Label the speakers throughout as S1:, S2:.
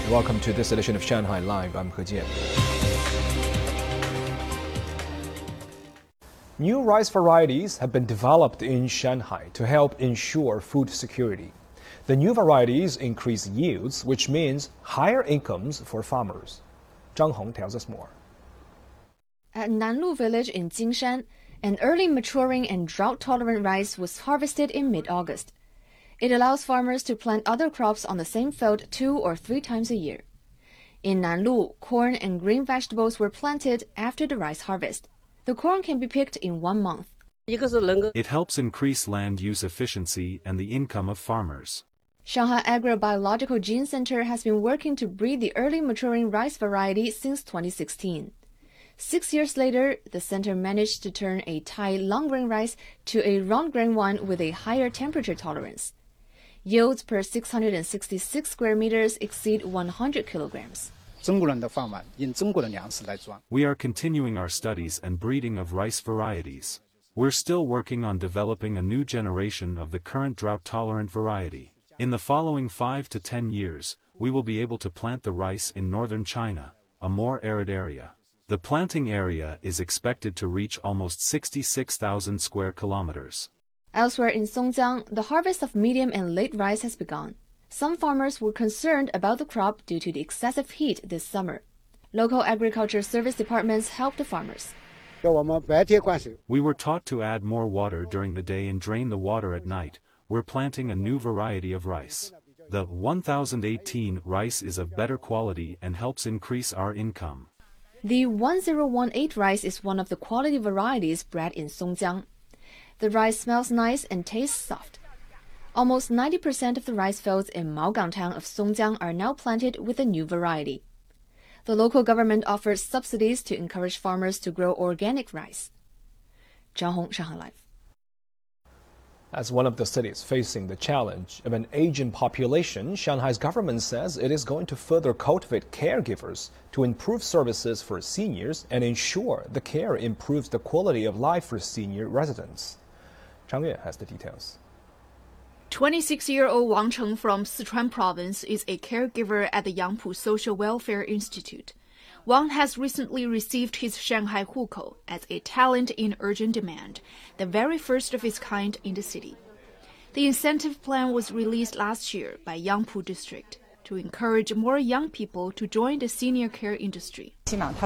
S1: Welcome to this edition of Shanghai Live. I'm He Jian. New rice varieties have been developed in Shanghai to help ensure food security. The new varieties increase yields, which means higher incomes for farmers. Zhang Hong tells us more.
S2: At Nanlu village in Jingshan, an early maturing and drought-tolerant rice was harvested in mid-August. It allows farmers to plant other crops on the same field 2 or 3 times a year. In Nanlu, corn and green vegetables were planted after the rice harvest. The corn can be picked in 1 month.
S3: It helps increase land use efficiency and the income of farmers.
S2: Shanghai Agrobiological Gene Center has been working to breed the early maturing rice variety since 2016. 6 years later, the center managed to turn a Thai long-grain rice to a round-grain one with a higher temperature tolerance. Yields per 666 square meters exceed 100 kilograms.
S3: We are continuing our studies and breeding of rice varieties. We're still working on developing a new generation of the current drought-tolerant variety. In the following 5 to 10 years, we will be able to plant the rice in northern China, a more arid area. The planting area is expected to reach almost 66,000 square kilometers.
S2: Elsewhere in Songjiang, the harvest of medium and late rice has begun. Some farmers were concerned about the crop due to the excessive heat this summer. Local agriculture service departments help the farmers.
S3: We were taught to add more water during the day and drain the water at night. We're planting a new variety of rice. The 1018 rice is of better quality and helps increase our income.
S2: The 1018 rice is one of the quality varieties bred in Songjiang. The rice smells nice and tastes soft. Almost 90% of the rice fields in Maogang town of Songjiang are now planted with the new variety. The local government offers subsidies to encourage farmers to grow organic rice. Zhang Hong, Shanghai Live.
S1: As one of the cities facing the challenge of an aging population, Shanghai's government says it is going to further cultivate caregivers to improve services for seniors and ensure the care improves the quality of life for senior residents. Zhang Yue has the details.
S4: 26-year-old Wang Cheng from Sichuan province is a caregiver at the Yangpu Social Welfare Institute. Wang has recently received his Shanghai Hukou as a talent in urgent demand, the very first of its kind in the city. The incentive plan was released last year by Yangpu District to encourage more young people to join the senior care industry.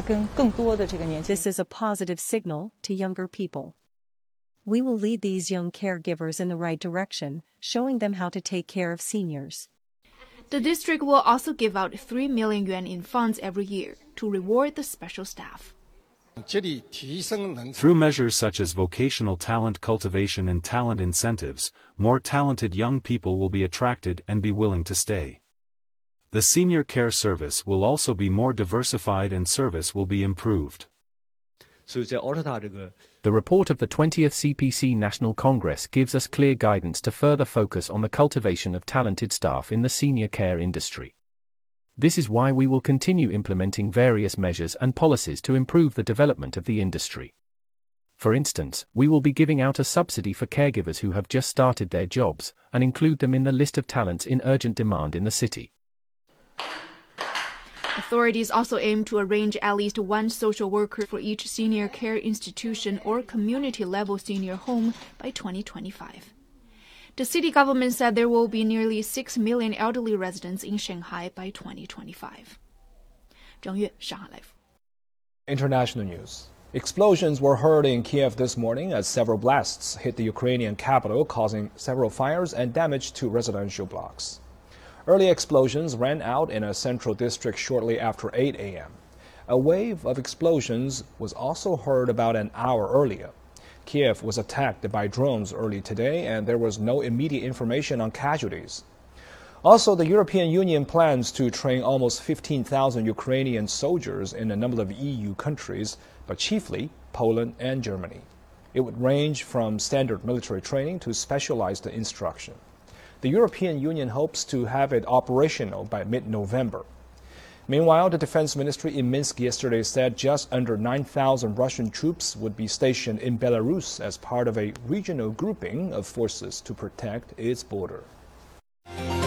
S5: This is a positive signal to younger people. We will lead these young caregivers in the right direction, showing them how to take care of seniors.
S4: The district will also give out 3 million yuan in funds every year to reward the special staff.
S3: Through measures such as vocational talent cultivation and talent incentives, more talented young people will be attracted and be willing to stay. The senior care service will also be more diversified and service will be improved.
S6: The report of the 20th CPC National Congress gives us clear guidance to further focus on the cultivation of talented staff in the senior care industry. This is why we will continue implementing various measures and policies to improve the development of the industry. For instance, we will be giving out a subsidy for caregivers who have just started their jobs, and include them in the list of talents in urgent demand in the city.
S4: Authorities also aim to arrange at least one social worker for each senior care institution or community-level senior home by 2025. The city government said there will be nearly 6 million elderly residents in Shanghai by 2025. Zhang Yue, Shanghai Live.
S1: International news. Explosions were heard in Kiev this morning as several blasts hit the Ukrainian capital, causing several fires and damage to residential blocks. Early explosions ran out in a central district shortly after 8 a.m. A wave of explosions was also heard about an hour earlier. Kiev was attacked by drones early today, and there was no immediate information on casualties. Also, the European Union plans to train almost 15,000 Ukrainian soldiers in a number of EU countries, but chiefly Poland and Germany. It would range from standard military training to specialized instruction. The European Union hopes to have it operational by mid-November. Meanwhile, the defense ministry in Minsk yesterday said just under 9,000 Russian troops would be stationed in Belarus as part of a regional grouping of forces to protect its border.